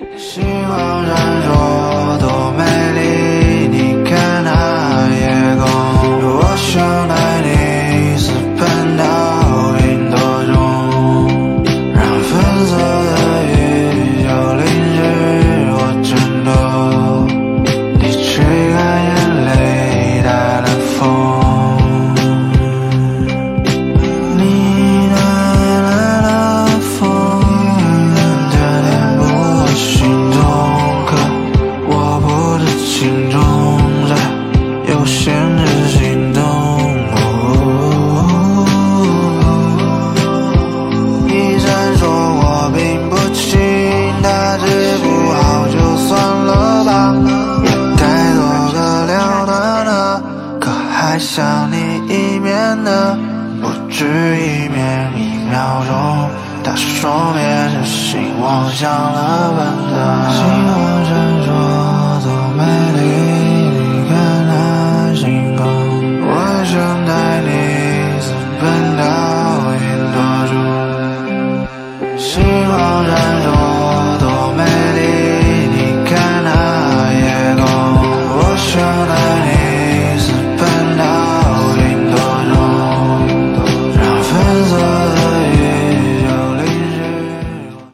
星光闪烁多美丽，你看那夜空，我想带你私奔到云朵中，让粉色的雨就淋湿我枕头，你吹干眼泪带了风，你带来了风，填补我心中，可我不知情中谁又限制心动。一闪说我并不轻，大致不好就算了吧，也该做个了断了，可还想你一面呢，不止一面，1秒钟，它说灭着心，望向了本能。星光闪